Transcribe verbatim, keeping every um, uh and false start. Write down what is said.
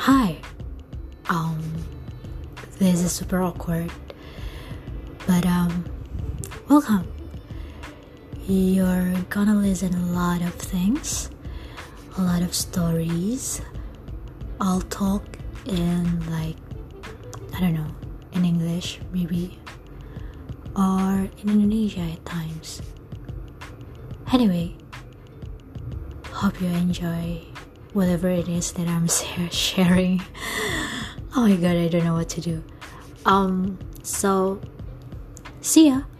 Hi. Um, this is super awkward, but um, welcome. You're gonna listen a lot of things, a lot of stories. I'll talk in like, I don't know, in English maybe, or in Indonesia at times. Anyway, hope you enjoy whatever it is that I'm sharing. Oh my god, I don't know what to do. Um, so, see ya.